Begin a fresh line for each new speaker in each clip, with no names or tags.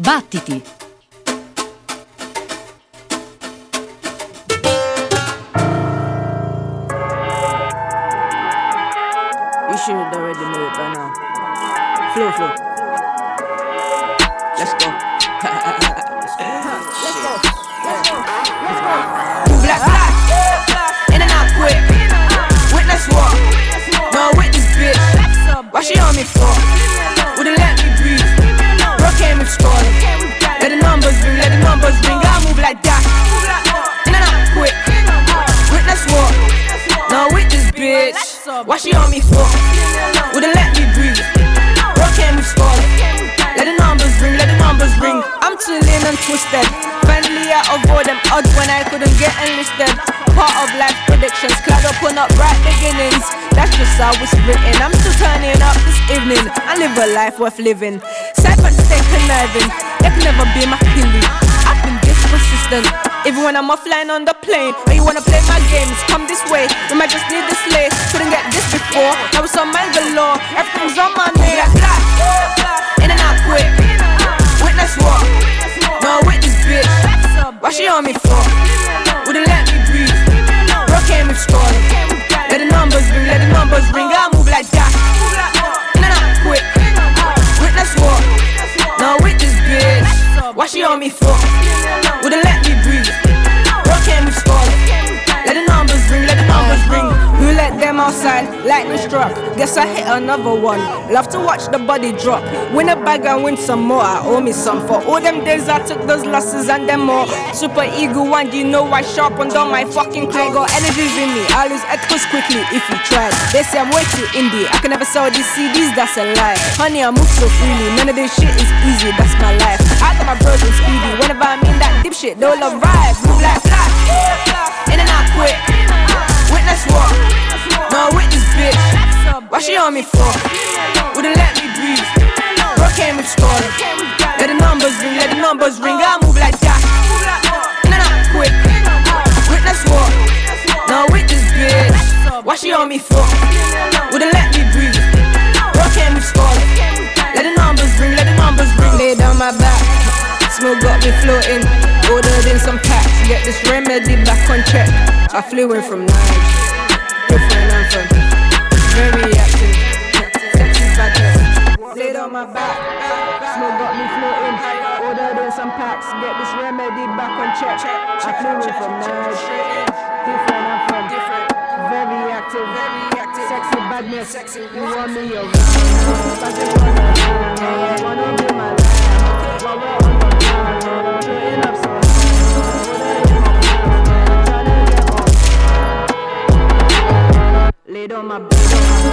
Battiti!
You should have already know it by now. Flow. Let's go. Move like flash, in and out quick. Witness what? No witness bitch. Why she on me for? Wouldn't let me breathe. Bro came with scoring. Let the numbers ring. I move like that. In and out quick. Witness what? No witness bitch. Why she on me for? Wouldn't let me breathe. Bro came with scoring. Let the numbers ring. I'm too lean and twisted. Finally I avoid them odds when I couldn't get enlisted. Part of life predictions, clad up on upright beginnings. That's just how it's written. I'm still turning up this evening. I live a life worth living. Cyphers stay conniving. They can never be my killie. I've been this persistent. Even when I'm offline on the plane. When you wanna play my games, come this way. We might just need this lay. Couldn't get this before. Now it's on my galore. Everything's on my name. In and out quick. Witness what? No witness bitch. Why she on me for? Wouldn't let me breathe. Bro came with scoring. Let the numbers ring. I move like that. In and out quick. Witness what? No witness bitch. Why she on me for? Wouldn't let me breathe. Bro came with scoring. Let the numbers ring. Who let them outside? Lightning struck. Guess I hit another one. Love to watch the body drop. Win a bag and win some more. I owe me some. For all them days I took those losses and them more. Super ego one, you know I sharpened on my fucking clock. Got energies in me. I lose ethicals quickly if you try. They say I'm way too indie. I can never sell these CDs, that's a lie. Honey, I move so freely. None of this shit is easy, that's my life. I got my bros and speedy. Whenever I mean that dipshit, they'll arrive. Move like flash. In and out quick. Witness what? No witness bitch. Why she on me for? Wouldn't let me breathe. Bro came with scoring. Let the numbers ring. I move like that. In and out quick. Witness what? No witness bitch. Why she on me for? Wouldn't let me breathe. Bro came with scoring. Let the numbers ring. Lay down my back. Smoke got me floating. Ordered in some packs. Get this remedy back on check. I flew in from Nigeria. Different anthem. Very active. Sexy badness. Laid on my back. Smoke got me floating. Ordered in some packs. Get this remedy back on check. I flew in from Nigeria. Different anthem. Very active. Sexy badness. You want me around. You wanna be my life. While we're on the ground. Putting up some. Laid on my back.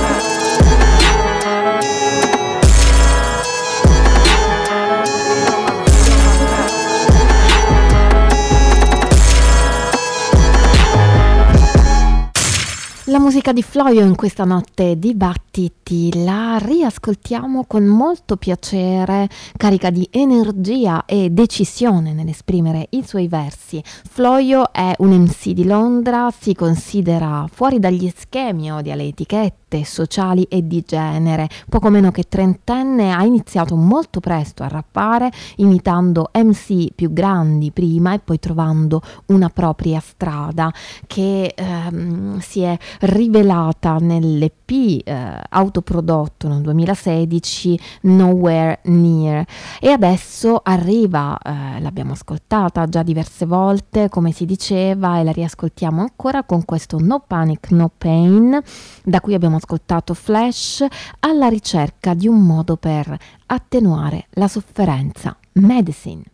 La musica di Floio in questa notte di battiti la riascoltiamo con molto piacere, carica di energia e decisione nell'esprimere i suoi versi. Floio è un MC di Londra, si considera fuori dagli schemi o dalle etichette sociali e di genere. Poco meno che trentenne, ha iniziato molto presto a rappare, imitando MC più grandi prima e poi trovando una propria strada che si è rivelata nell'EP autoprodotto nel 2016 Nowhere Near, e adesso arriva, l'abbiamo ascoltata già diverse volte come si diceva e la riascoltiamo ancora con questo No Panic No Pain, da cui abbiamo ascoltato Flash, alla ricerca di un modo per attenuare la sofferenza. Medicine.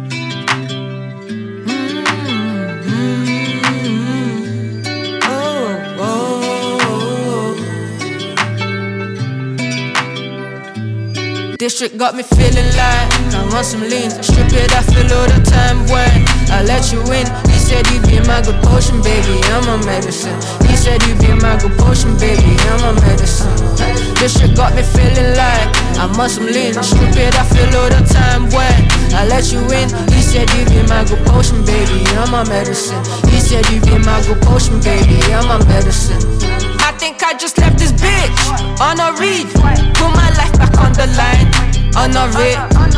District got me feeling like I want some lean. Strip it, I feel all the time when I let you in. You said you be my good potion, baby, I'm a medicine. You said you be my good potion, baby, I'm a medicine. District got me feeling like I want some lean. Strip it, I feel all the time when I let you in. You said you be my good potion, baby, I'm a medicine. You said you be my good potion, baby, I'm a medicine. I think I just left this bitch on a read. Put my life back on the line, on a read. I think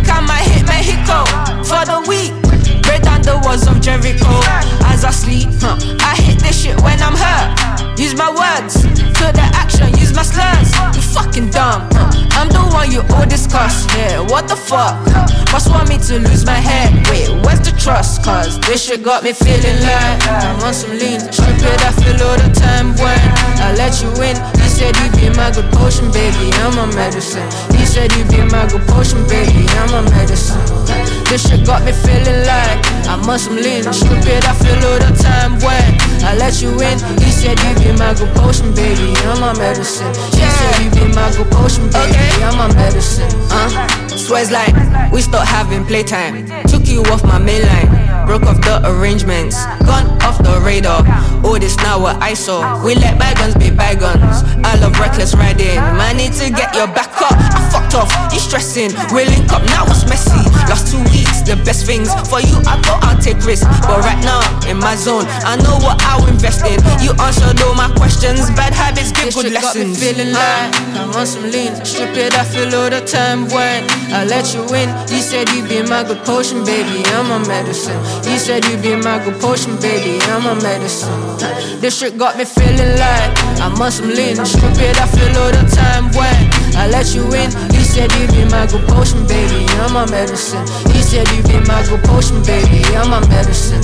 think I might hit Mexico for the week. Break down the walls of Jericho as I sleep. I hit this shit when I'm hurt. Use my words to the action, use my slurs. You fucking dumb. I'm the one you all discuss. Yeah, what the fuck? Must want me to lose my head. Wait, where's the trust? Cause this shit got me feeling like I want some lean. Strip it, I feel all the time when I let you in. You said you be my good potion, baby, I'm a medicine. You said you be my good potion, baby, I'm a medicine. This shit got me feeling like I must some lean. Strip it, I feel all the time when I let you in. You said you be my good potion, baby, I'm a medicine. You said you be my good potion, baby, I'm a medicine. Swears like we stopped having playtime. Took you off my main line. Broke off the arrangements. Gone off the radar. All this now what I saw. We let bygones be bygones. I love reckless riding. Man, need to get your back up. I fucked off, you stressing. We'll link up, now it's messy. Last 2 weeks, the best things. For you, I thought I'll take risks. But right now, in my zone, I know what I'll invest in. You answered all my questions. Bad habits give good lessons. Got me feeling like I want some lean. Strip it, I feel all the time when I let you in. You said you be my good potion, baby, I'm a medicine. You said you be my good potion, baby, I'm a medicine. This shit got me feeling like I must some lean. Strip it, I feel all the time when I let you in. You said you be my good potion, baby, I'm a medicine. You said you be my good potion, baby, I'm a medicine.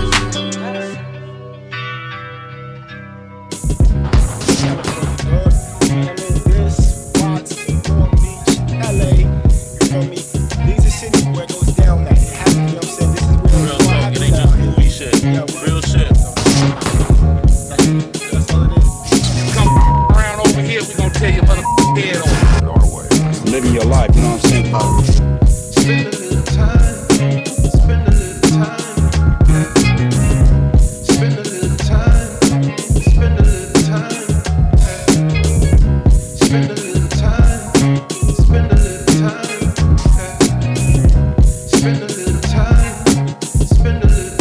Living your life, you know what I'm saying? Spend a little time, spend a little time, spend a little time, spend a little time, spend a little time, spend a little time, spend a little time, spend a little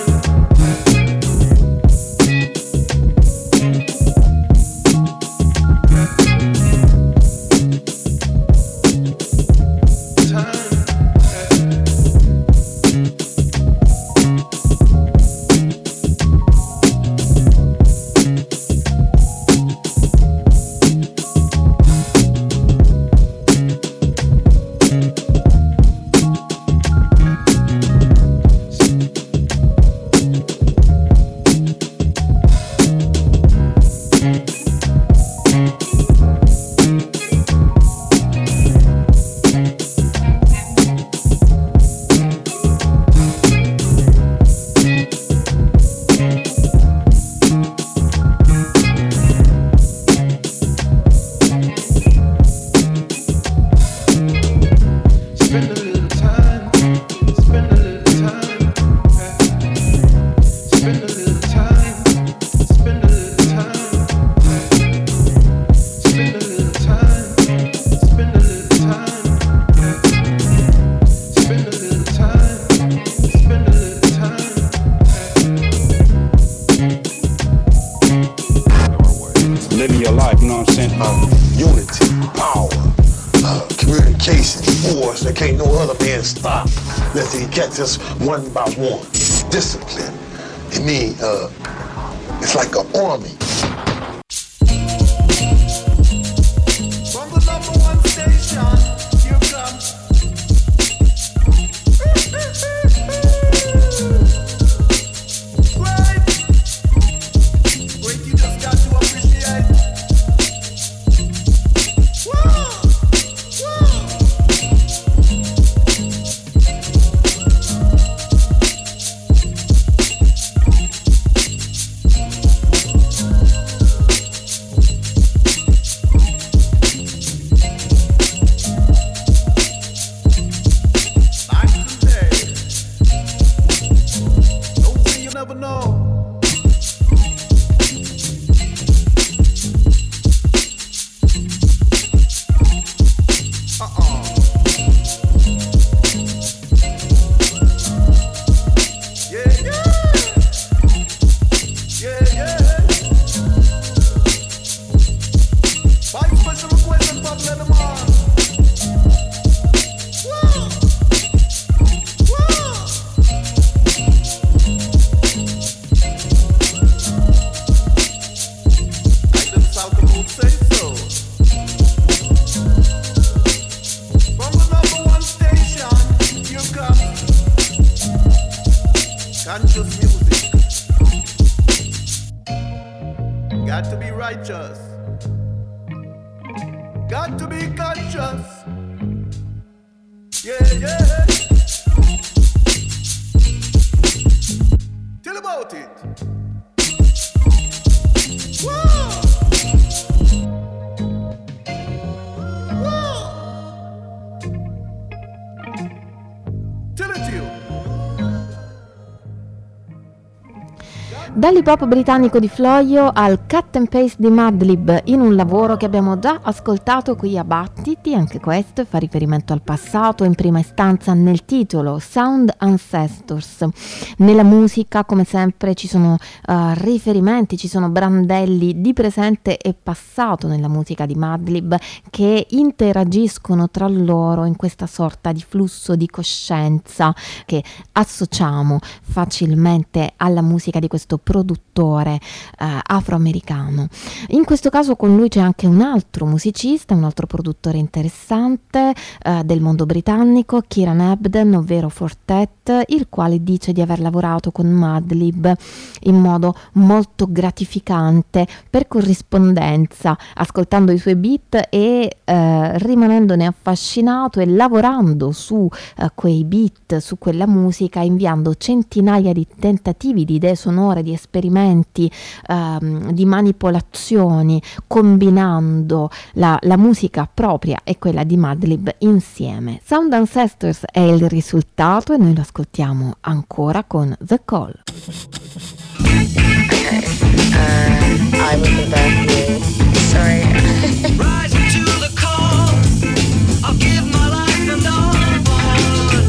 Just one by one. Discipline. It means it's like an army. From the #1 station, you come. Great, you just got to appreciate. Whoa, whoa.
got to be righteous, got to be conscious. Yeah, yeah. Tell about it. Whoa. Whoa. Tell it to you.
Dall'hip hop britannico di Floio al cut and paste di Madlib, in un lavoro che abbiamo già ascoltato qui a Battiti, anche questo fa riferimento al passato, in prima istanza nel titolo Sound Ancestors. Nella musica, come sempre, ci sono riferimenti, ci sono brandelli di presente e passato nella musica di Madlib che interagiscono tra loro in questa sorta di flusso di coscienza che associamo facilmente alla musica di questo produttore afroamericano. In questo caso con lui c'è anche un altro musicista, un altro produttore interessante del mondo britannico, Kieran Ebden, ovvero Fortet, il quale dice di aver lavorato con Madlib in modo molto gratificante per corrispondenza, ascoltando i suoi beat e rimanendone affascinato e lavorando su quei beat, su quella musica, inviando centinaia di tentativi di idee sonore, di esperimenti, di manipolazioni, combinando la musica propria e quella di Madlib insieme. Sound Ancestors è il risultato e noi lo ascoltiamo ancora con The Call.
Okay, I will be back here. Sorry.
Rising to the call, I'll give my life and all I want.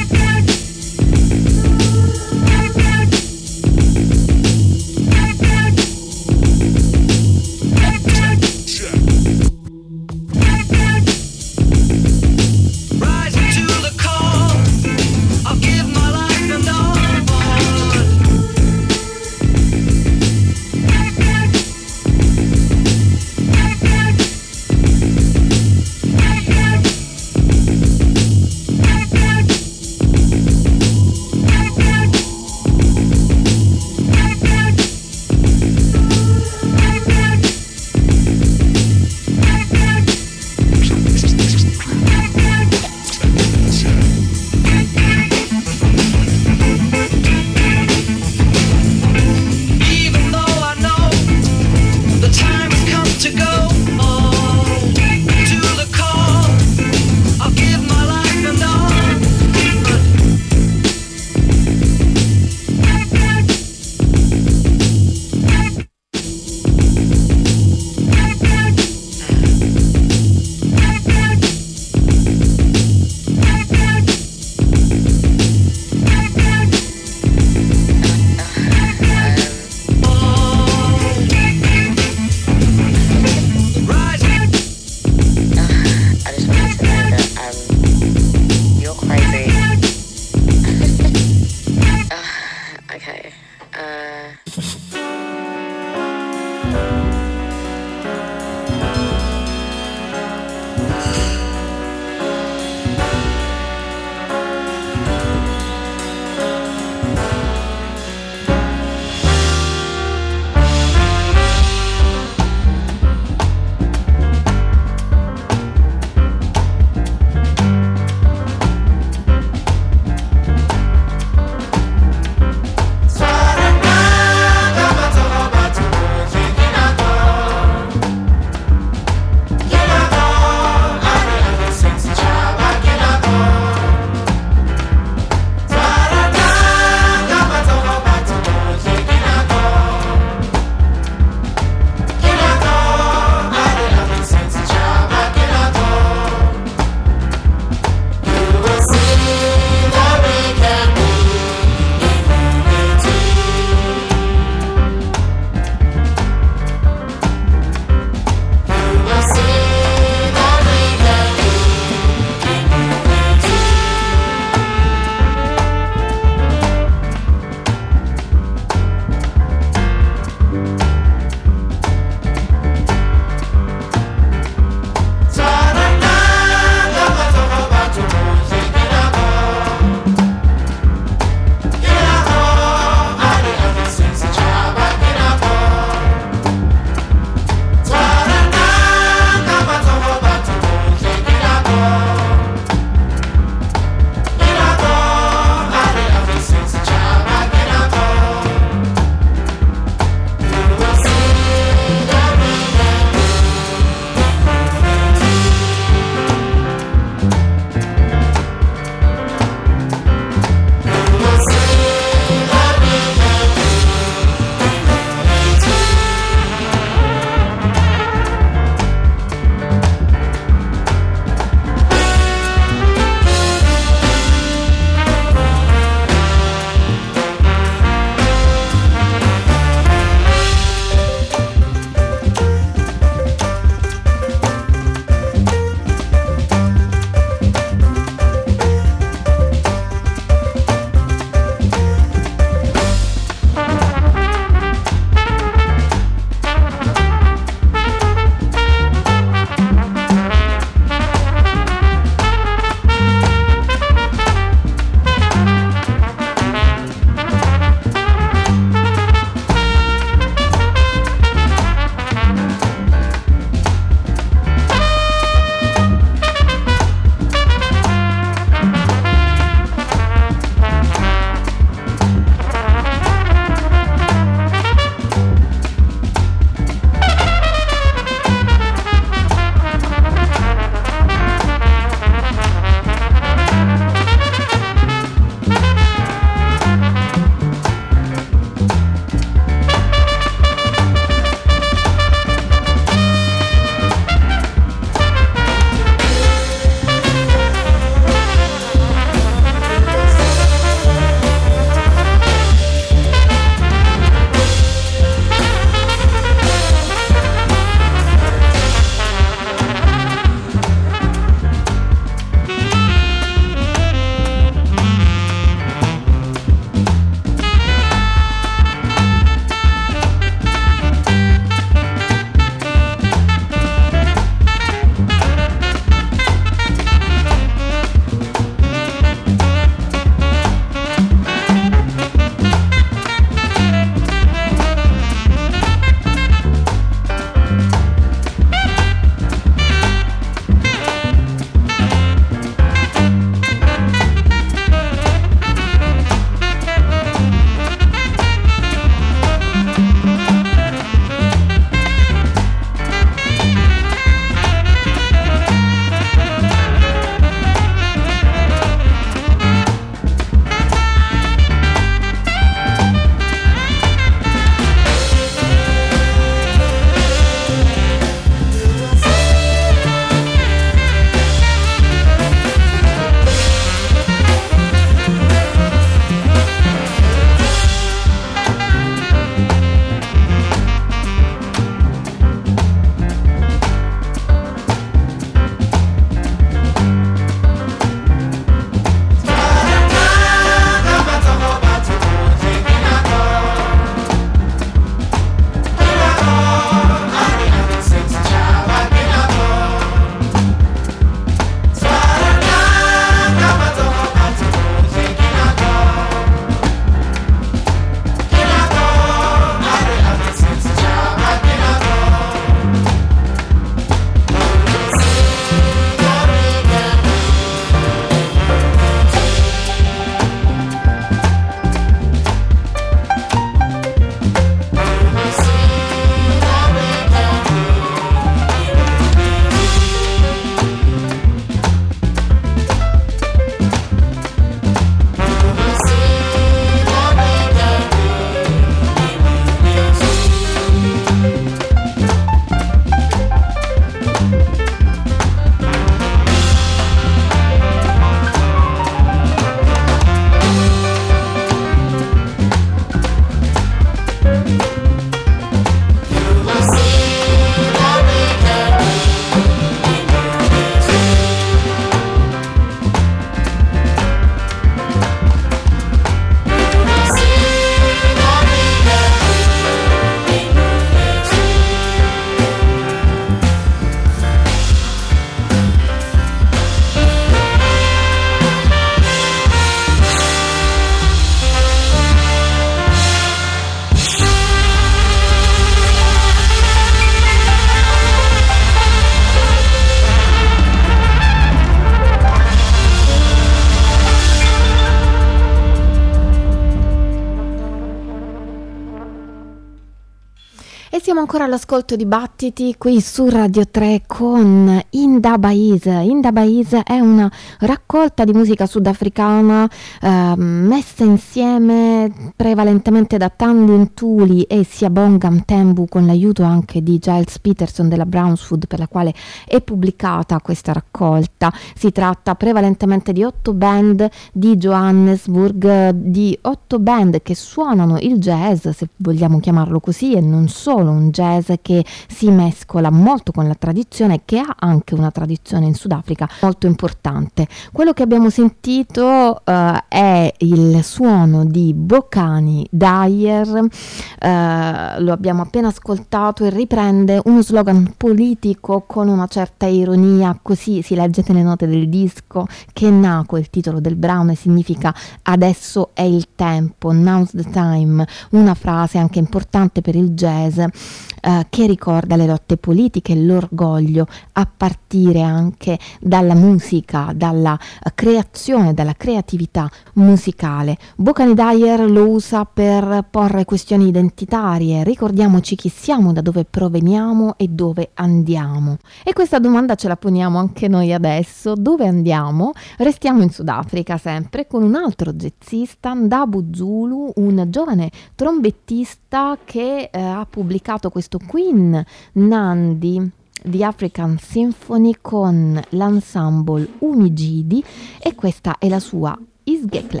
E siamo ancora all'ascolto di Battiti qui su Radio 3 con Indabais. Indabais è una raccolta di musica sudafricana messa insieme prevalentemente da Tandin Tuli e Siyabonga Mthembu, con l'aiuto anche di Giles Peterson della Brownswood, per la quale è pubblicata questa raccolta. Si tratta prevalentemente di 8 band di Johannesburg, di 8 band che suonano il jazz, se vogliamo chiamarlo così, e non solo un jazz che si mescola molto con la tradizione, che ha anche una tradizione in Sudafrica molto importante. Quello che abbiamo sentito è il suono di Bokani Dyer, lo abbiamo appena ascoltato, e riprende uno slogan politico con una certa ironia, così si legge nelle note del disco, che Nako, il titolo del brano, e significa adesso è il tempo, now's the time, una frase anche importante per il jazz, che ricorda le lotte politiche e l'orgoglio a partire anche dalla musica, dalla creazione, dalla creatività musicale. Bokani Dyer lo usa per porre questioni identitarie: ricordiamoci chi siamo, da dove proveniamo e dove andiamo. E questa domanda ce la poniamo anche noi adesso: dove andiamo? Restiamo in Sudafrica sempre con un altro jazzista, Ndabu Zulu, un giovane trombettista che ha pubblicato questo Queen Nandi di African Symphony con l'ensemble Umijidi, e questa è la sua Isgekle.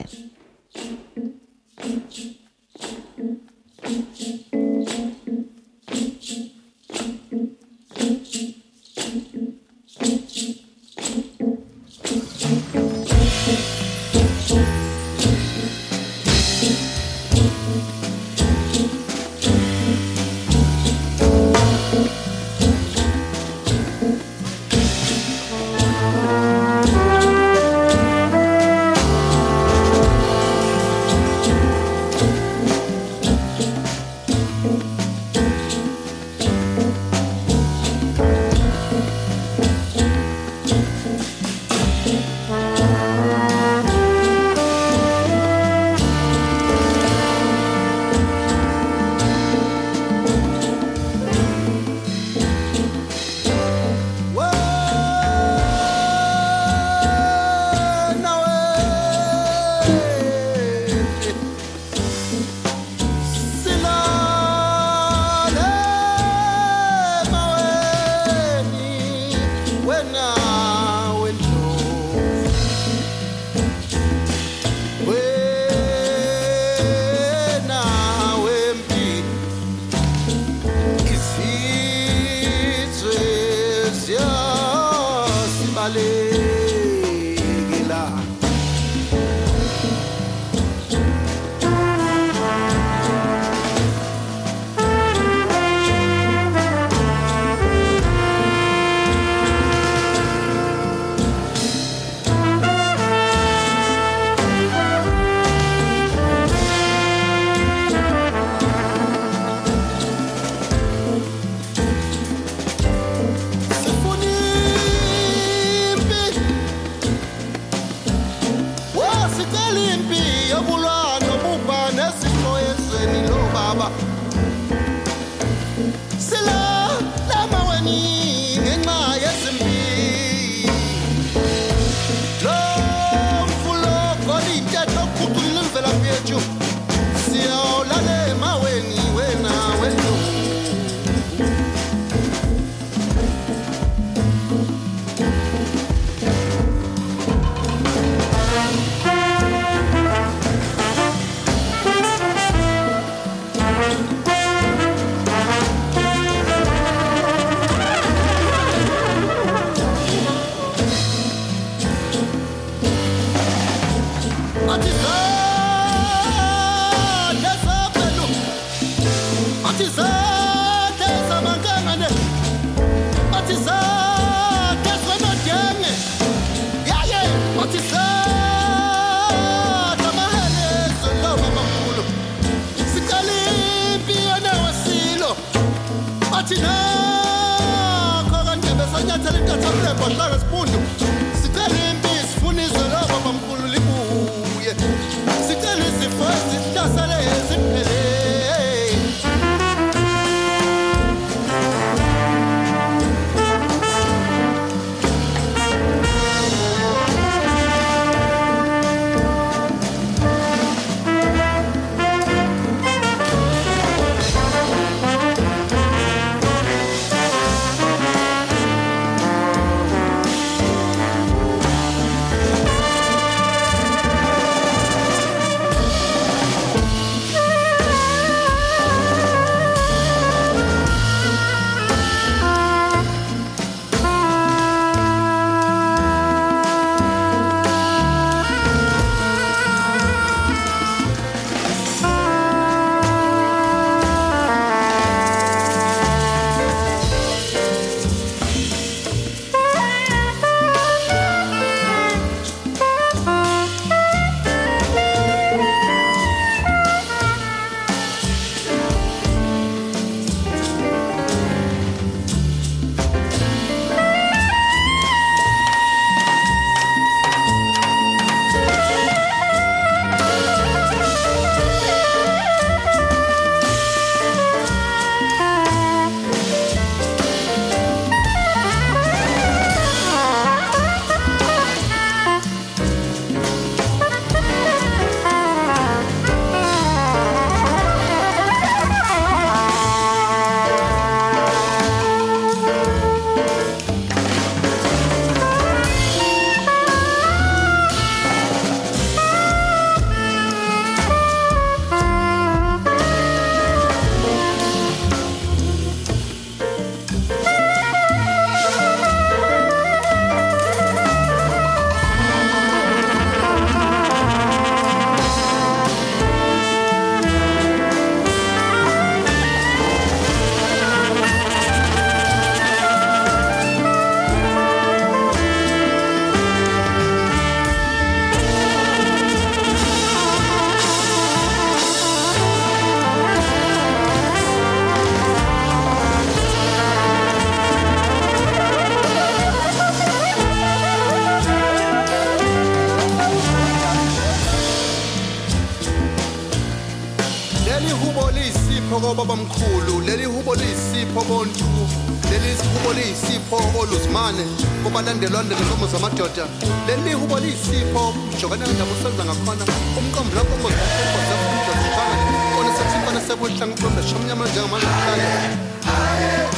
leli hubo liyisipho kobabamkhulu, leli hubo liyisipho bontu, leli hubo liyisipho oluzimane kubalandelwa ngezinkomo zamadoda, leli hubo liyisipho jokana ndaba usenza ngakhona umqombo lapho ngozifumba zafunda zishangane kona sekusikhona sebuhlanga ukulomba shamnyama njengamanje kuhlale.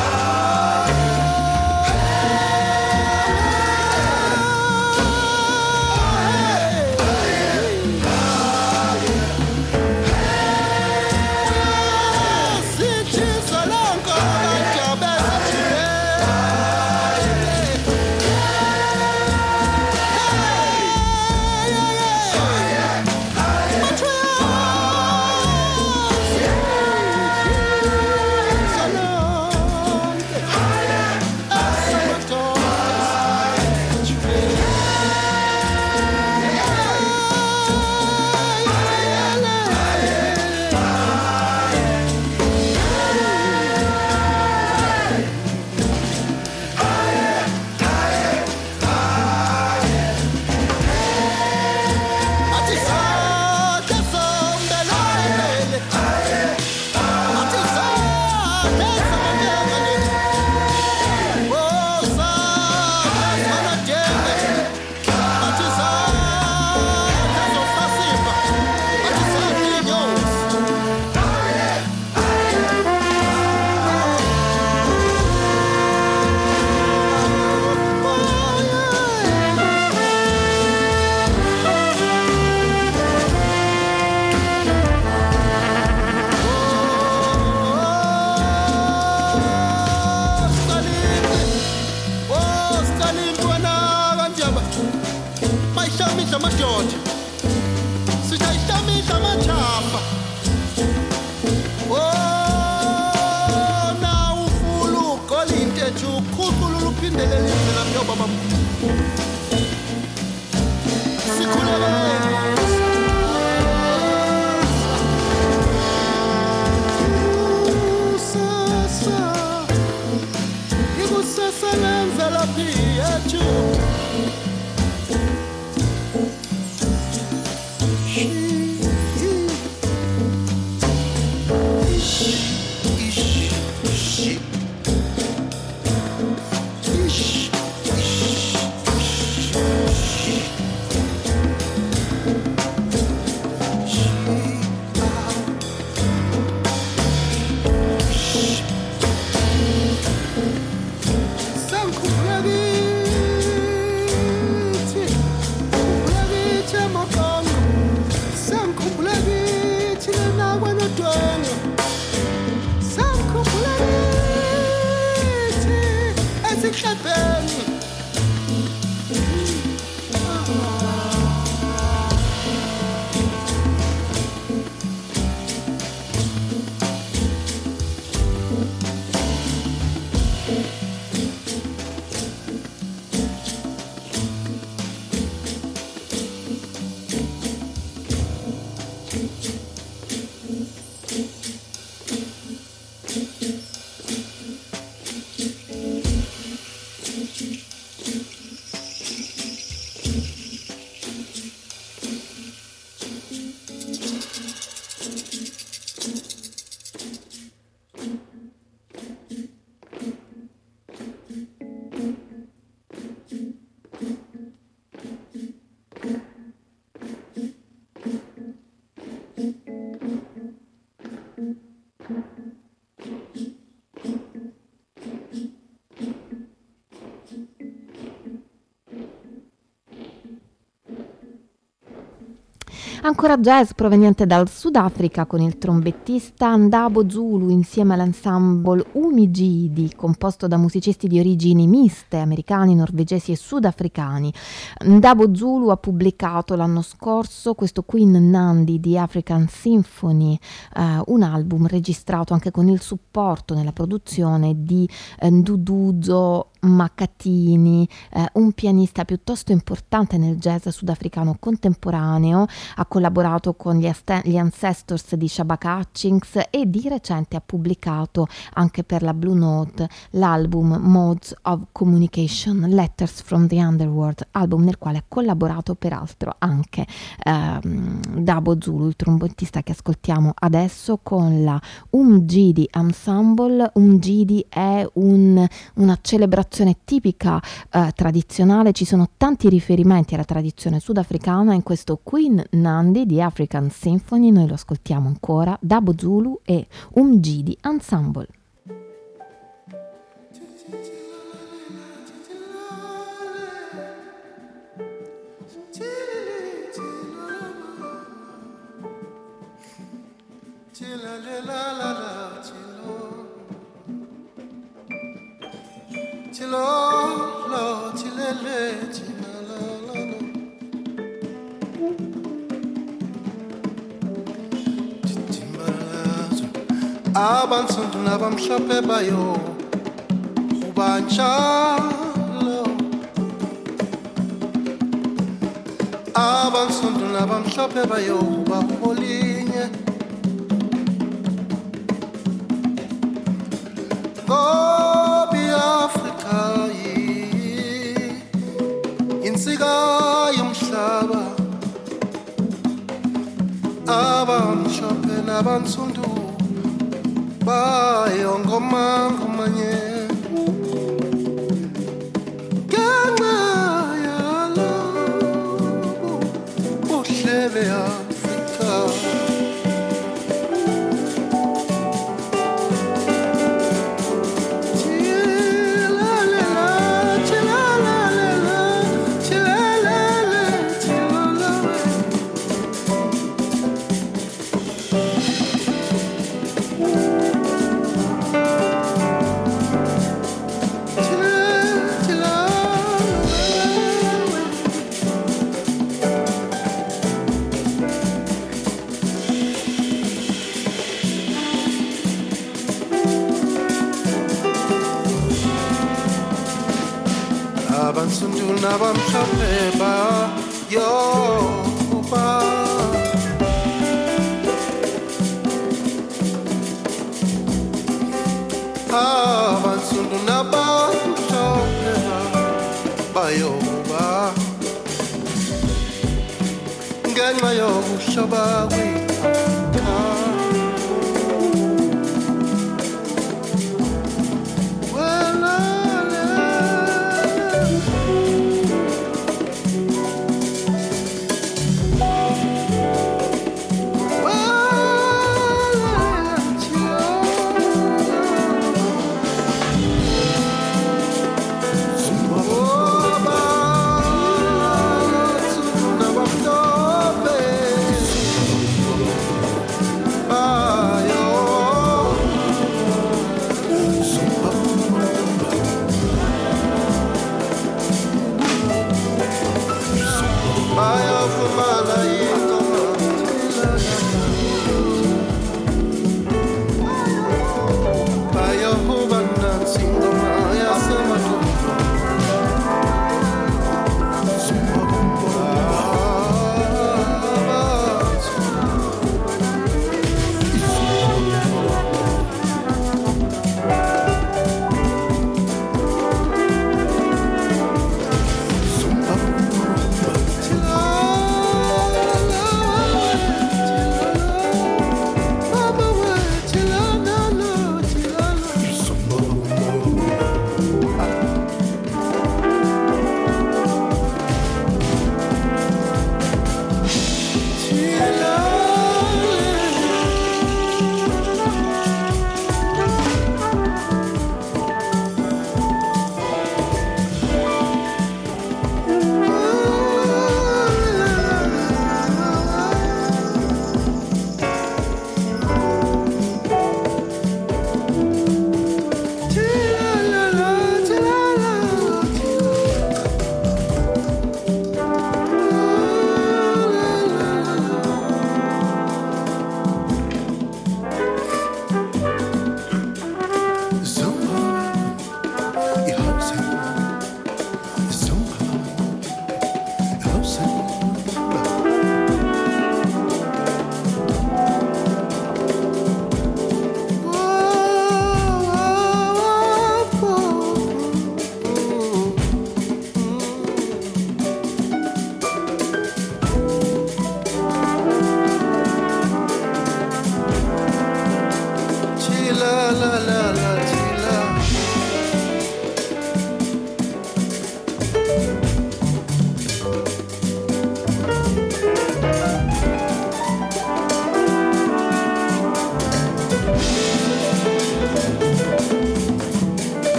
Ancora jazz proveniente dal Sudafrica con il trombettista Ndabo Zulu insieme all'ensemble Umijidi, composto da musicisti di origini miste, americani, norvegesi e sudafricani. Ndabo Zulu ha pubblicato l'anno scorso questo Queen Nandi di African Symphony, un album registrato anche con il supporto nella produzione di Nduduzo Makatini, un pianista piuttosto importante nel jazz sudafricano contemporaneo. Ha collaborato con gli Ancestors di Shabaka Hutchings e di recente ha pubblicato anche per la Blue Note l'album Modes of Communication, Letters from the Underworld, album nel quale ha collaborato peraltro anche Dabo Zulu, il trombettista che ascoltiamo adesso con la Umjidi Ensemble. Umjidi è una celebrazione tipica tradizionale, ci sono tanti riferimenti alla tradizione sudafricana in questo Queen Nandi di African Symphony. Noi lo ascoltiamo ancora, Dabo Zulu e Umjidi Ensemble.
Abansundu nabamhlophe bayo ubanjalo abansundu nabamhlophe bayo baholinye Gobi Afrika insika yomhlaba abamhlophe nabansundu bayo ngoma ngomanye ngenxa yalobu buhle Afrika Abansundu nabamhlophe bayo abansundu nabamhlophe bayo ngenxa yokuhloba kwe-Afrika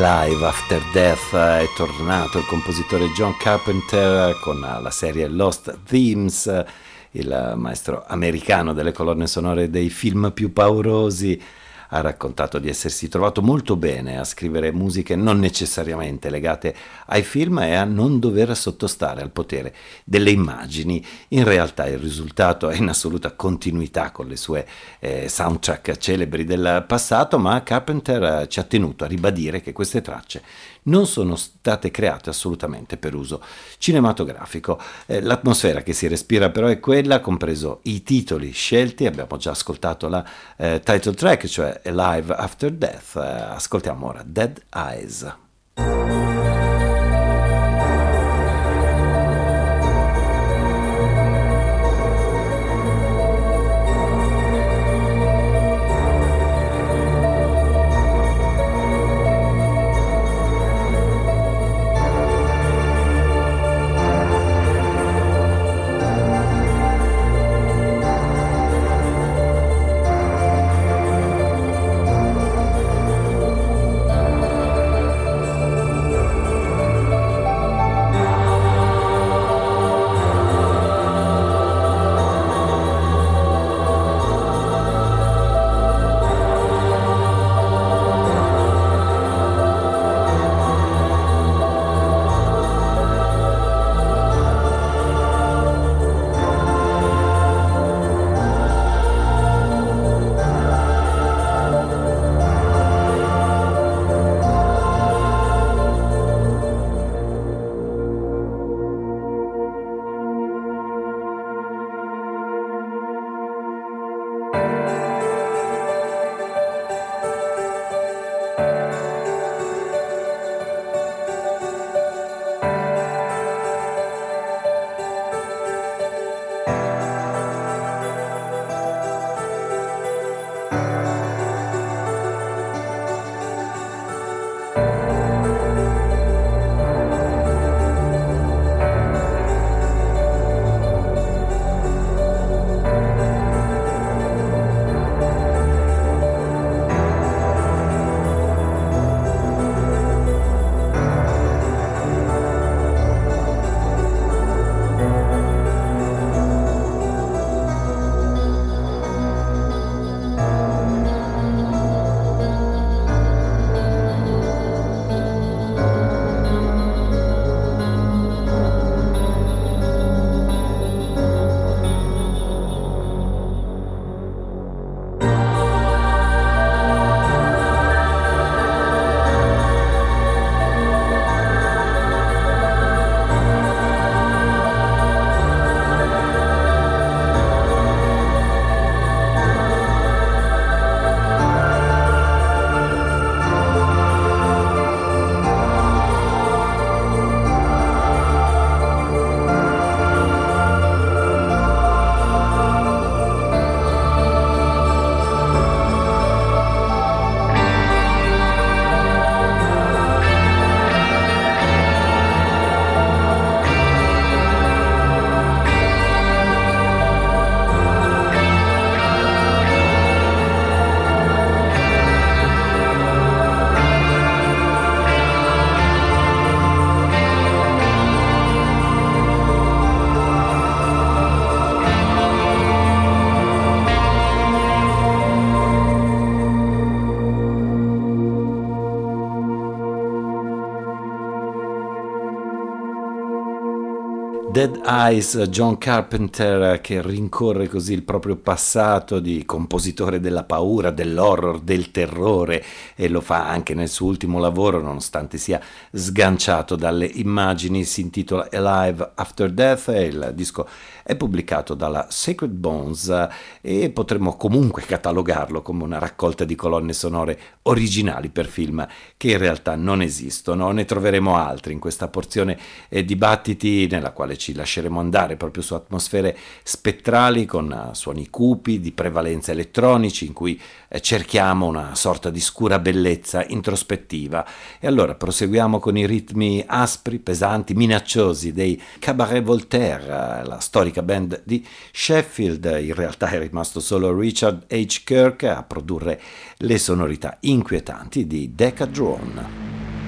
Alive After Death è tornato il compositore John Carpenter con la serie Lost Themes, il maestro americano delle colonne sonore dei film più paurosi. Ha raccontato di essersi trovato molto bene a scrivere musiche non necessariamente legate ai film e a non dover sottostare al potere delle immagini. In realtà il risultato è in assoluta continuità con le sue soundtrack celebri del passato, ma Carpenter ci ha tenuto a ribadire che queste tracce non sono state create assolutamente per uso cinematografico. L'atmosfera che si respira però è quella, compreso i titoli scelti. Abbiamo già ascoltato la title track, cioè Alive After Death. Ascoltiamo ora Dead Eyes. Dead Eyes, John Carpenter, che rincorre così il proprio passato di compositore della paura, dell'horror, del terrore, e lo fa anche nel suo ultimo lavoro, nonostante sia sganciato dalle immagini. Si intitola Alive After Death e il disco è pubblicato dalla Sacred Bones e potremmo comunque catalogarlo come una raccolta di colonne sonore originali per film che in realtà non esistono. Ne troveremo altri in questa porzione dibattiti, nella quale ci lasceremo andare proprio su atmosfere spettrali con suoni cupi di prevalenza elettronici, in cui cerchiamo una sorta di scura bellezza introspettiva. E allora proseguiamo con i ritmi aspri, pesanti, minacciosi dei Cabaret Voltaire, la storica band di Sheffield. In realtà è rimasto solo Richard H. Kirk a produrre le sonorità inquietanti di Decadrone.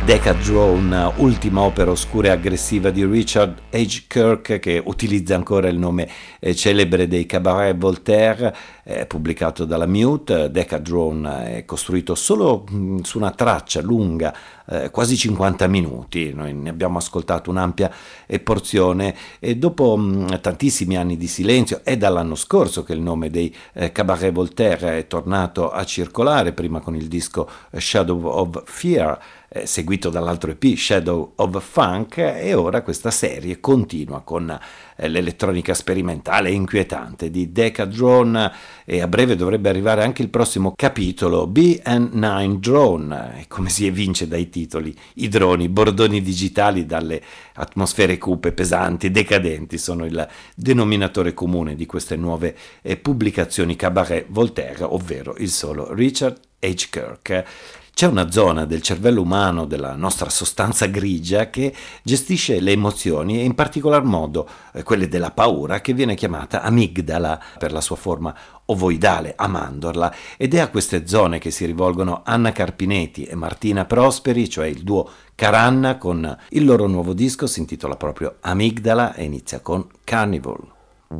Decadrone, ultima opera oscura e aggressiva di Richard H. Kirk, che utilizza ancora il nome celebre dei Cabaret Voltaire, pubblicato dalla Mute. Decadrone è costruito solo su una traccia lunga, quasi 50 minuti. Noi ne abbiamo ascoltato un'ampia porzione e dopo tantissimi anni di silenzio, è dall'anno scorso che il nome dei Cabaret Voltaire è tornato a circolare, prima con il disco Shadow of Fear, seguito dall'altro EP Shadow of Funk, e ora questa serie continua con l'elettronica sperimentale e inquietante di Decadrone, e a breve dovrebbe arrivare anche il prossimo capitolo, B&9 Drone, come si evince dai titoli. I droni, bordoni digitali dalle atmosfere cupe, pesanti, decadenti, sono il denominatore comune di queste nuove pubblicazioni Cabaret Voltaire, ovvero il solo Richard H. Kirk. C'è una zona del cervello umano, della nostra sostanza grigia, che gestisce le emozioni e in particolar modo quelle della paura, che viene chiamata amigdala per la sua forma ovoidale, a mandorla, ed è a queste zone che si rivolgono Anna Carpinetti e Martina Prosperi, cioè il duo Caranna, con il loro nuovo disco, si intitola proprio Amigdala e inizia con Carnival.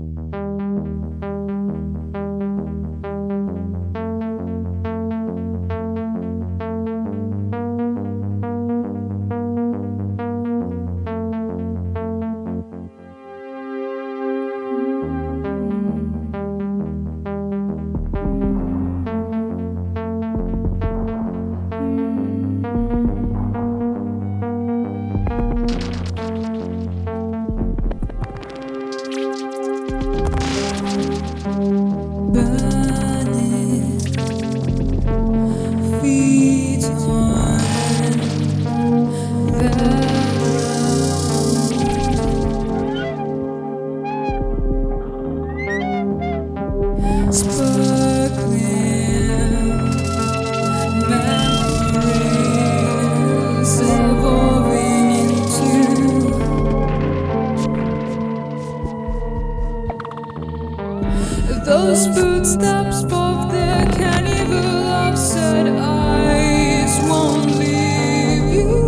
Those footsteps of the carnival of sad eyes won't leave you.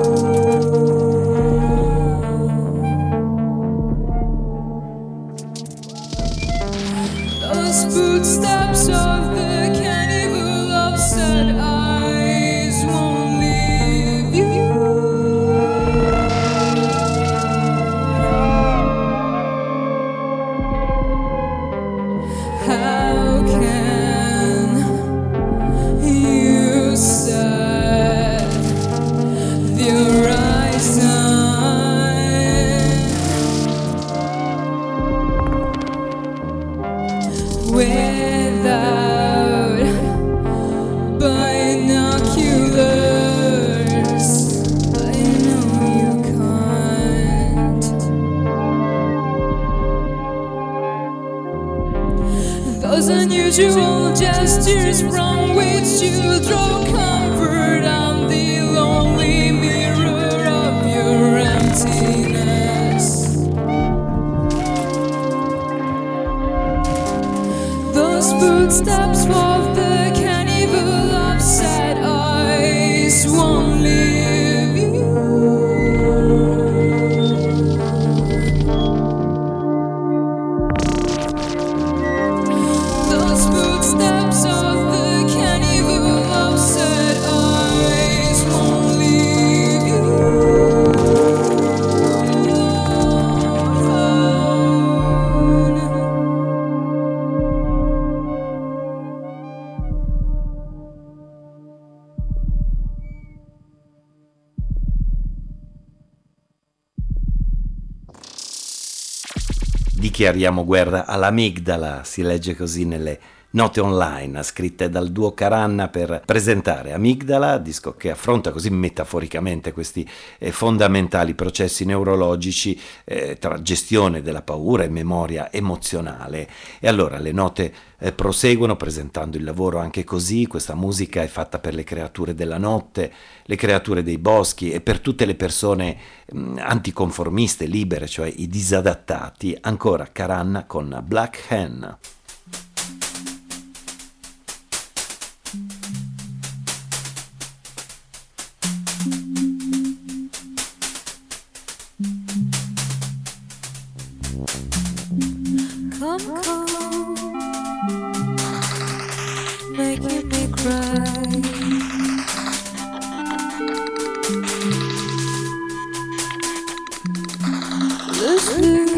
Those footsteps of the carnival of sad eyes won't leave you. How can you set the horizon without binoculars? I know you can't. Those unusual gestures from which you draw comfort on the lonely mirror of your emptiness. Those footsteps of the carnival of sad eyes won't leave you. Those footsteps of the carnival of sad eyes won't leave you.
Dichiariamo guerra all'amigdala, si legge così nelle note online scritte dal duo Caranna per presentare Amigdala, disco che affronta così metaforicamente questi fondamentali processi neurologici tra gestione della paura e memoria emozionale. E allora le note proseguono presentando il lavoro anche così. Questa musica è fatta per le creature della notte, le creature dei boschi e per tutte le persone anticonformiste, libere, cioè i disadattati. Ancora Caranna con Black Hen.
Come, come, making me cry. Lose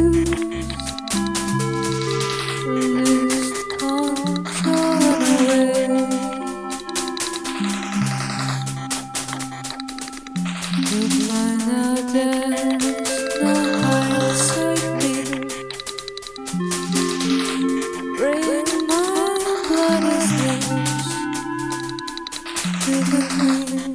control away. But why now there's no hindsight me. Bring my blood as loose to the queen.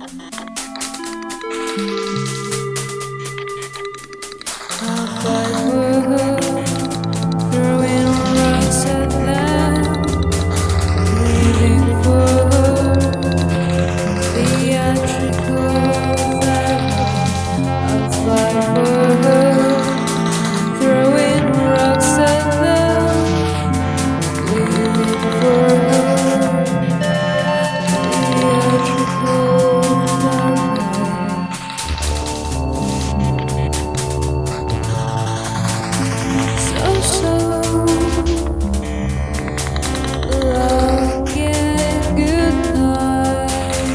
I'll fight for her, throwing rocks at them, pleading for her, theatrical that I'll fight for her, throwing rocks at them, pleading for her, theatrical that so long and good night.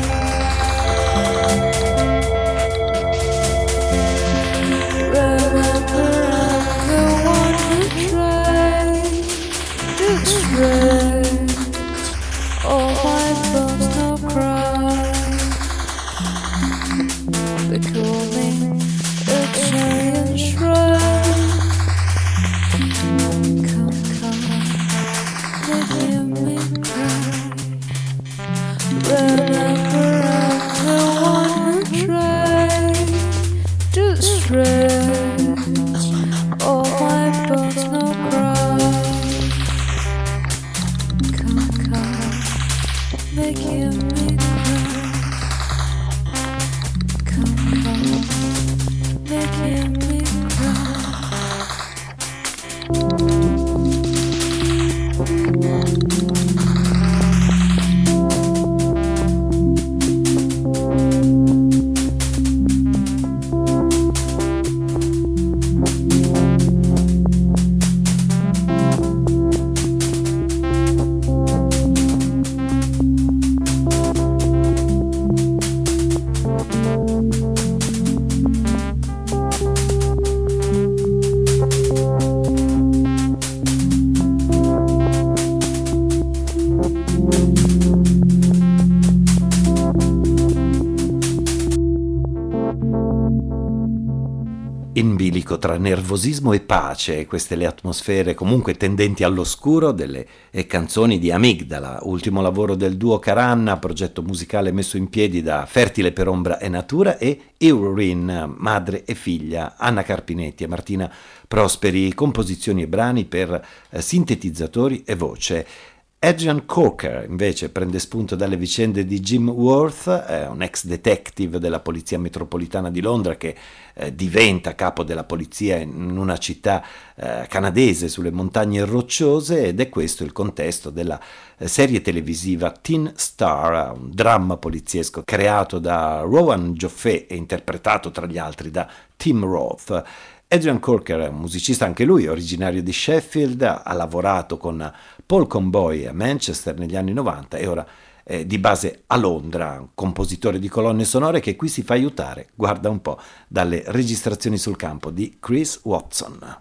Remember I'm the one who tried to stretch all my bones, no cry. They call me a giant shrine. Come, making me cry. Remember I'm the one who tried to stretch all my bones, no cry. Come, making me cry. Come, making me cry.
In bilico tra nervosismo e pace, queste le atmosfere comunque tendenti all'oscuro delle canzoni di Amigdala, ultimo lavoro del duo Caranna, progetto musicale messo in piedi da Fertile per Ombra e Natura, e Eurin, madre e figlia, Anna Carpinetti e Martina Prosperi, composizioni e brani per sintetizzatori e voce. Adrian Corker invece prende spunto dalle vicende di Jim Worth, un ex detective della Polizia Metropolitana di Londra che diventa capo della polizia in una città canadese sulle montagne rocciose, ed è questo il contesto della serie televisiva Teen Star, un dramma poliziesco creato da Rowan Joffé e interpretato tra gli altri da Tim Roth. Adrian Corker è un musicista anche lui, originario di Sheffield, ha lavorato con Paul Conboy a Manchester negli anni 90 e ora è di base a Londra, un compositore di colonne sonore che qui si fa aiutare, guarda un po', dalle registrazioni sul campo di Chris Watson.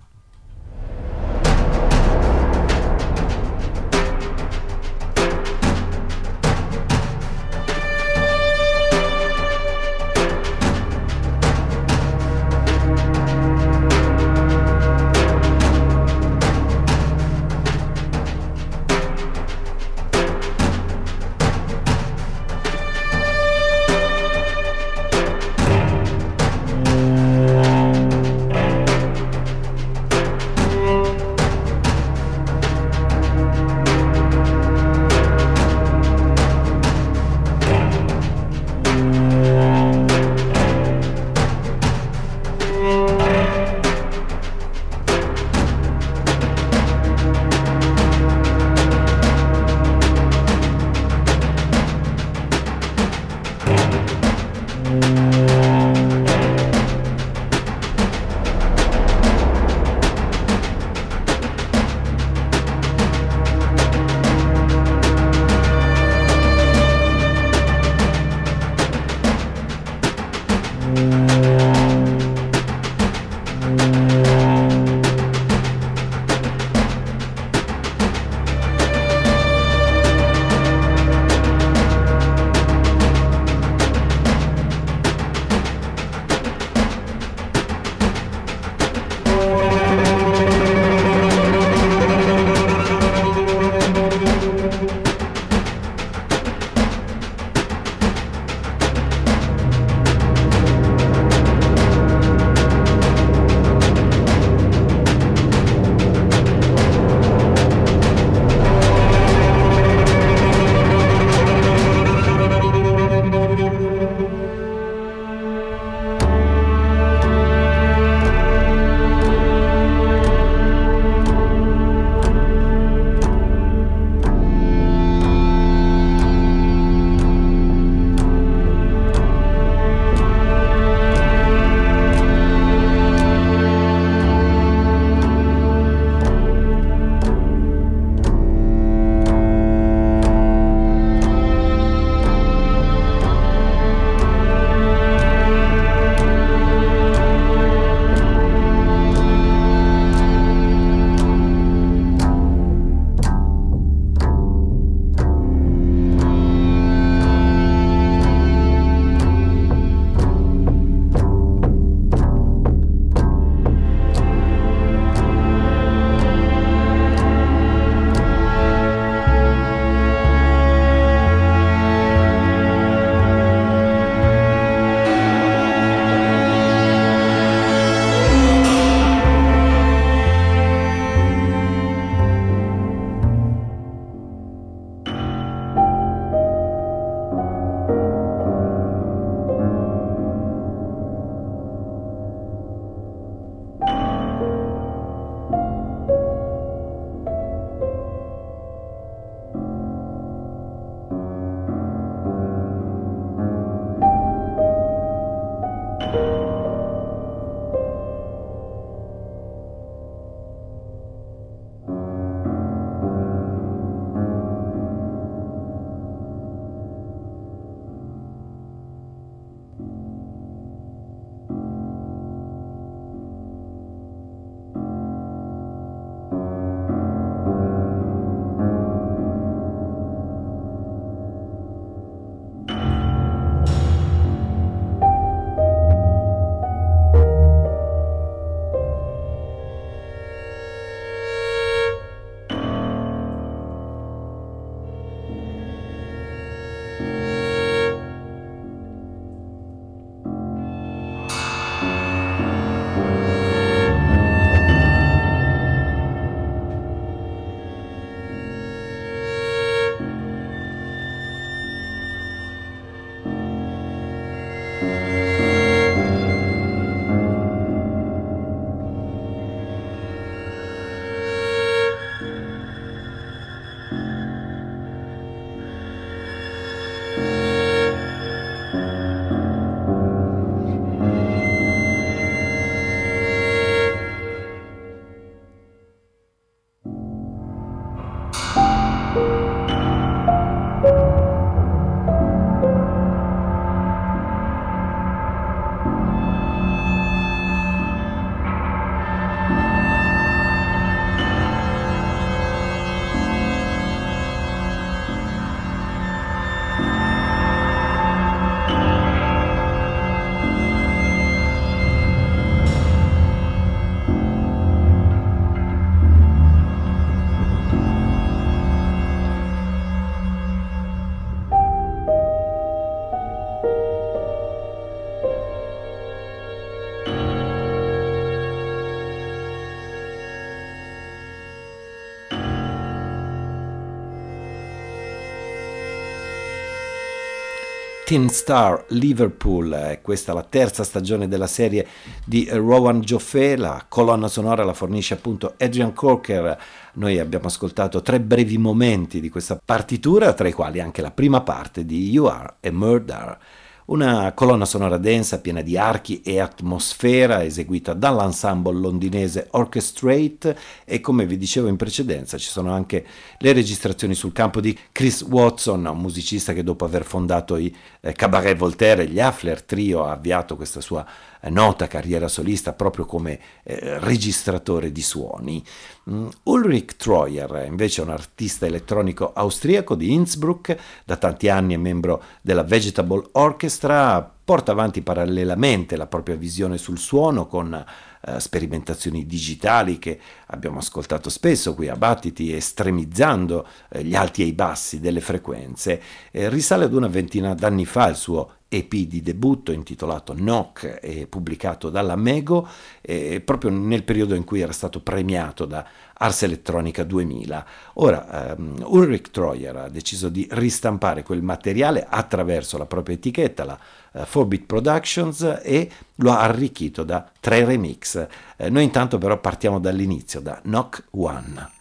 Teen Star Liverpool, questa è la terza stagione della serie di Rowan Joffé, la colonna sonora la fornisce appunto Adrian Corker. Noi abbiamo ascoltato 3 brevi momenti di questa partitura, tra i quali anche la prima parte di You Are a Murder. Una colonna sonora densa, piena di archi e atmosfera, eseguita dall'ensemble londinese Orchestrate, e come vi dicevo in precedenza ci sono anche le registrazioni sul campo di Chris Watson, un musicista che dopo aver fondato i Cabaret Voltaire e gli Hafler Trio ha avviato questa sua nota carriera solista proprio come registratore di suoni. Ulrich Treuer invece è un artista elettronico austriaco di Innsbruck, da tanti anni è membro della Vegetable Orchestra, porta avanti parallelamente la propria visione sul suono con sperimentazioni digitali che abbiamo ascoltato spesso qui a Battiti, estremizzando gli alti e i bassi delle frequenze. Risale ad una ventina d'anni fa il suo EP di debutto intitolato Knock, e pubblicato dalla Mego, proprio nel periodo in cui era stato premiato da Ars Electronica 2000. Ora Ulrich Treuer ha deciso di ristampare quel materiale attraverso la propria etichetta, la 4-Bit Productions, e lo ha arricchito da 3 remix. Noi intanto però partiamo dall'inizio, da Knock One.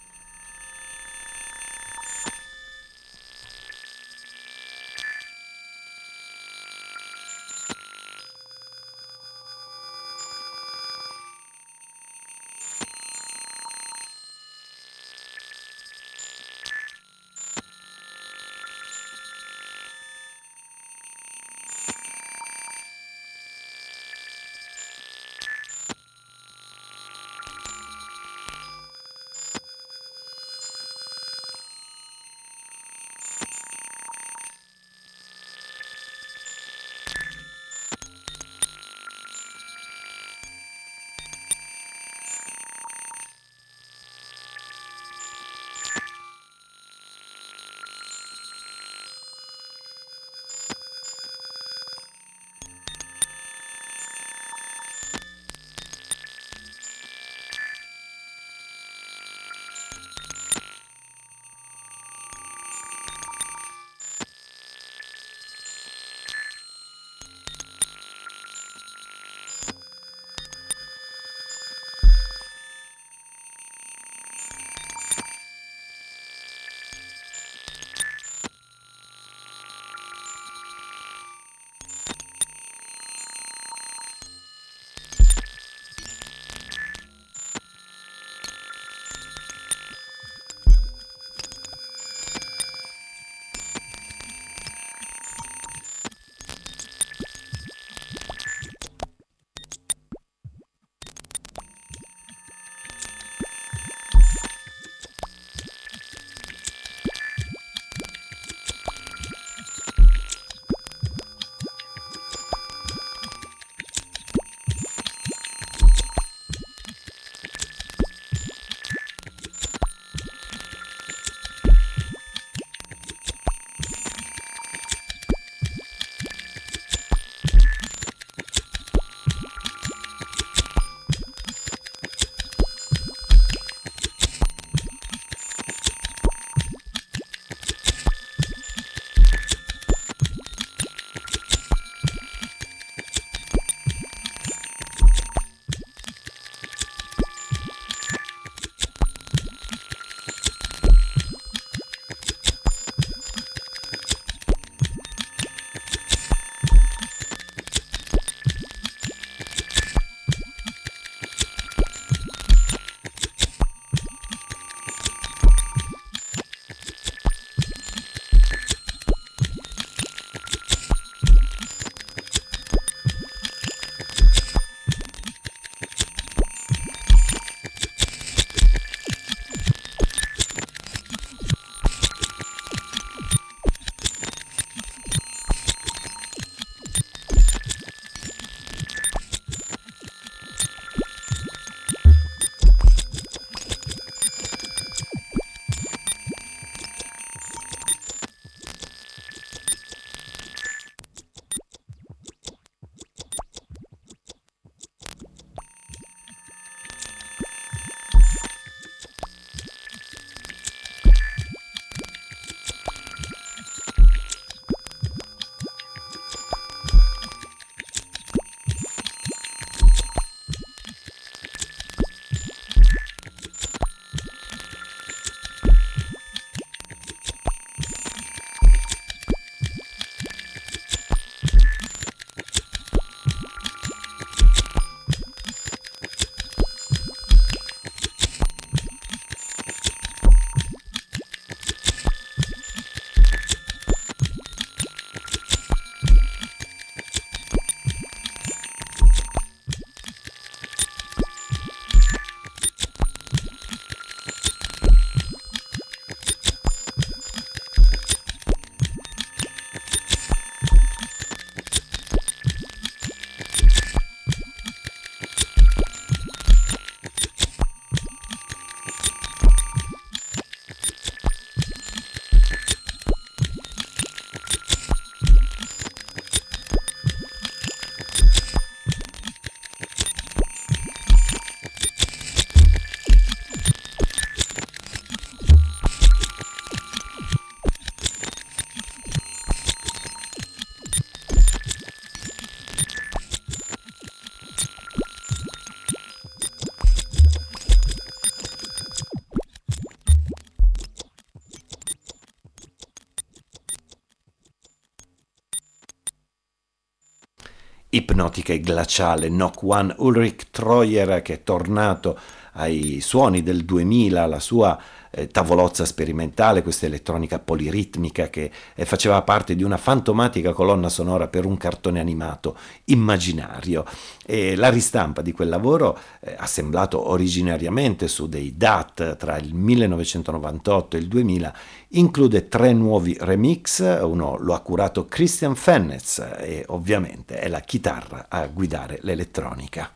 ipnotica e glaciale Knock One, Ulrich Treuer, che è tornato ai suoni del 2000, la sua tavolozza sperimentale, questa elettronica poliritmica che faceva parte di una fantomatica colonna sonora per un cartone animato immaginario. E la ristampa di quel lavoro, assemblato originariamente su dei DAT tra il 1998 e il 2000, include 3 nuovi remix. Uno lo ha curato Christian Fennez e ovviamente è la chitarra a guidare l'elettronica.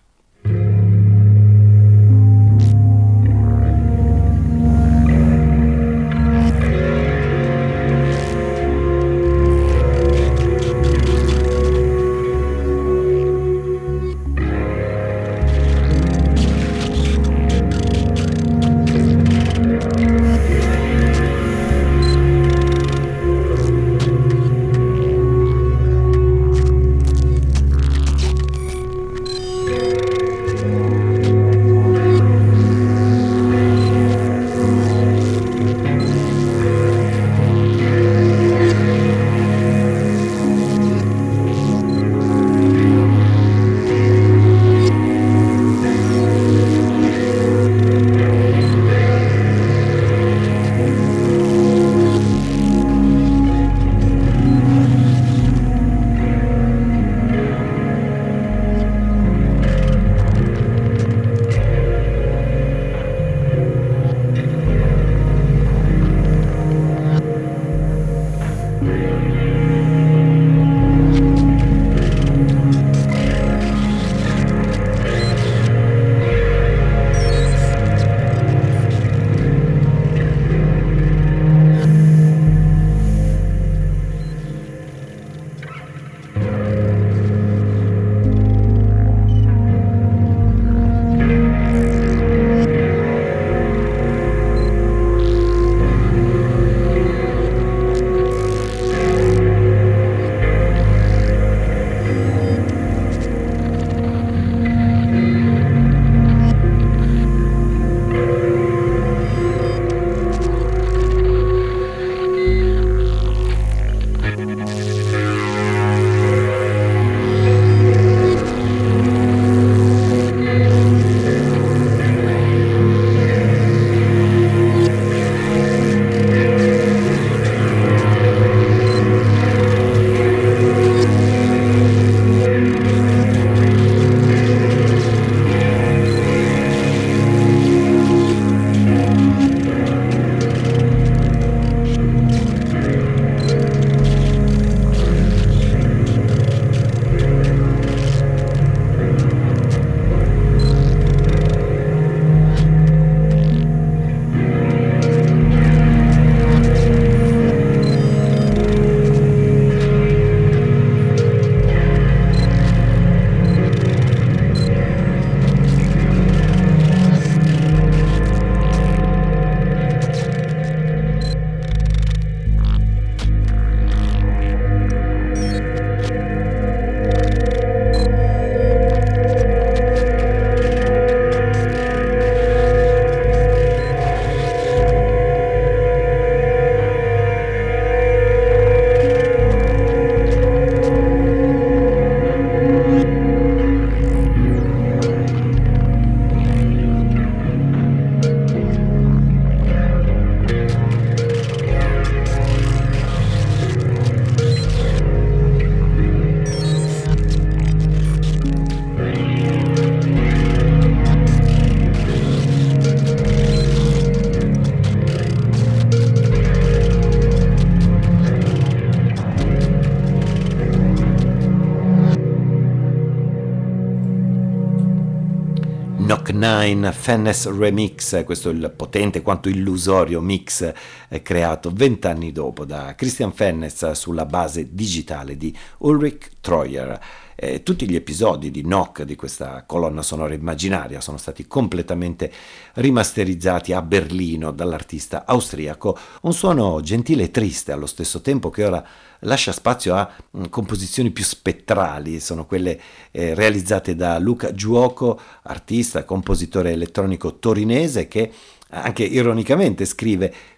Knock 9 Fennez Remix, questo è il potente quanto illusorio mix creato 20 anni dopo da Christian Fennez sulla base digitale di Ulrich Treuer. Tutti gli episodi di Knock, di questa colonna sonora immaginaria, sono stati completamente rimasterizzati a Berlino dall'artista austriaco, un suono gentile e triste allo stesso tempo, che ora lascia spazio a composizioni più spettrali. Sono quelle realizzate da Luca Giuoco, artista, compositore elettronico torinese, che anche ironicamente scrive: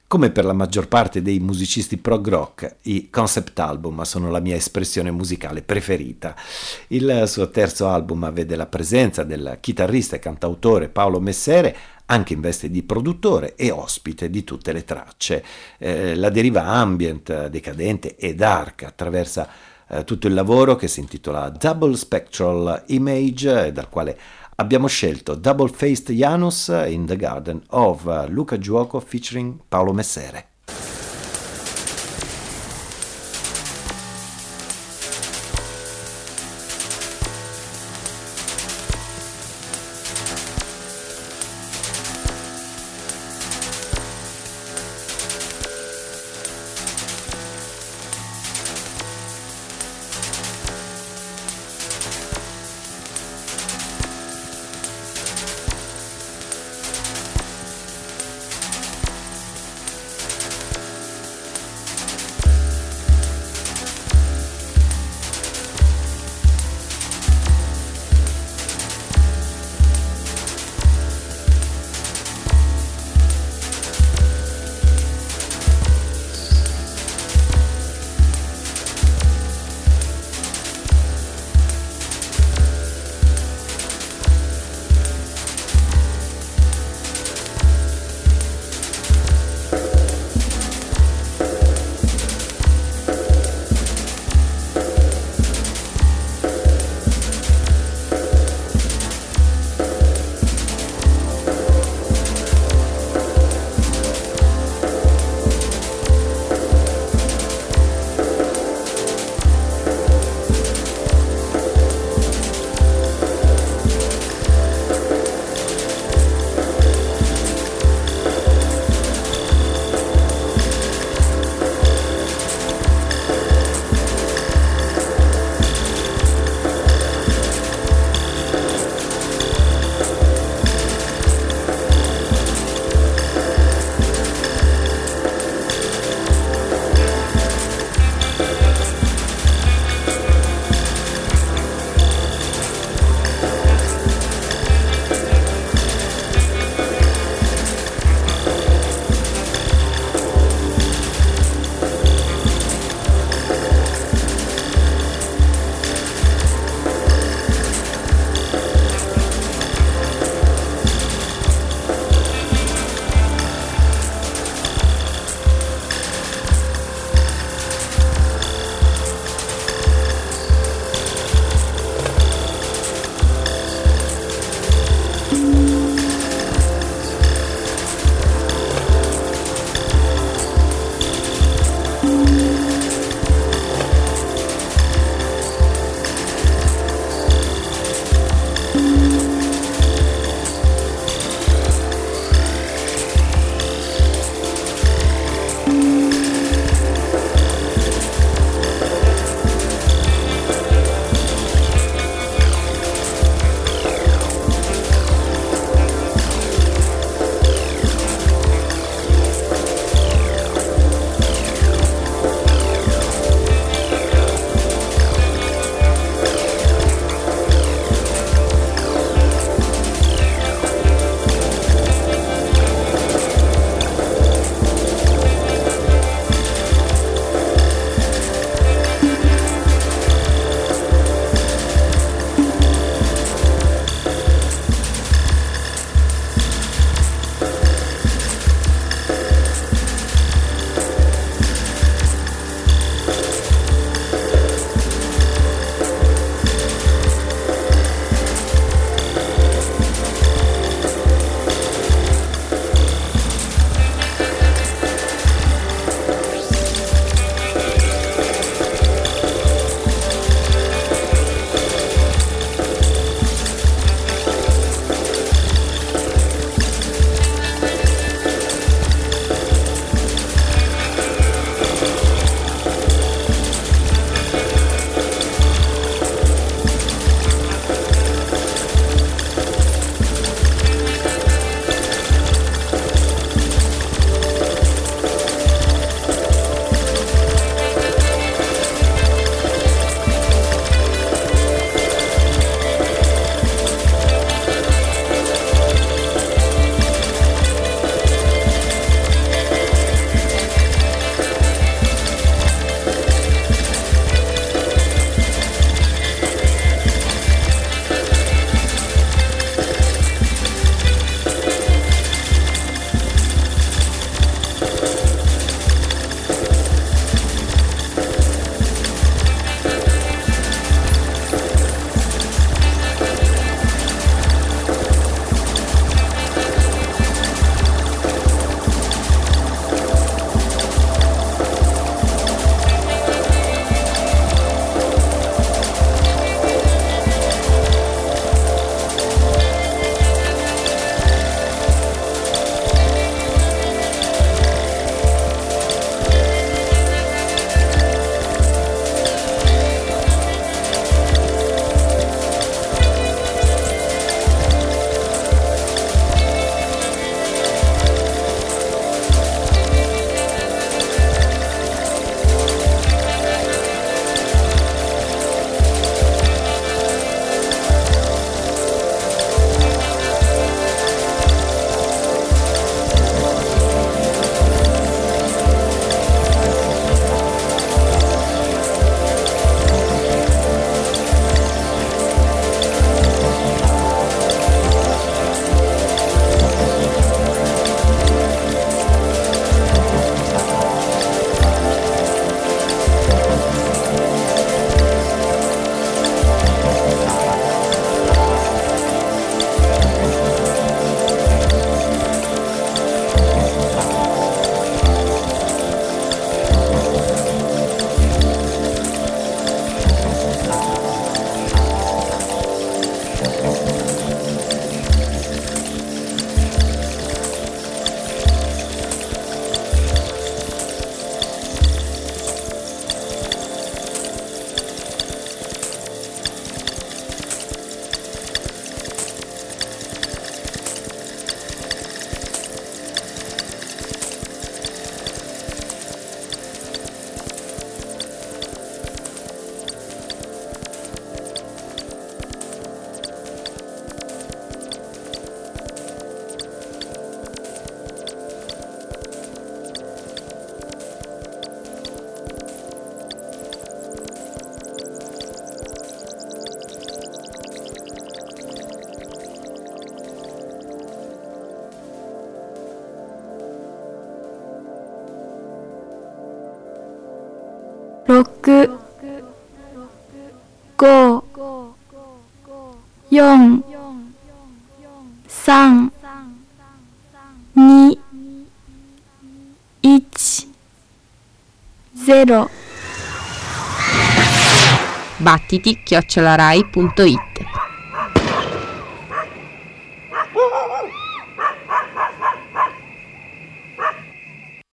Come per la maggior parte dei musicisti prog rock, i concept album sono la mia espressione musicale preferita. Il suo terzo album vede la presenza del chitarrista e cantautore Paolo Messere, anche in veste di produttore e ospite di tutte le tracce. La deriva ambient, decadente e dark attraversa tutto il lavoro, che si intitola Double Spectral Image, dal quale abbiamo scelto Double Faced Janus in the Garden of Luca Giuoco featuring Paolo Messere.
6 5 4 3 2 1 0
battiti@rai.it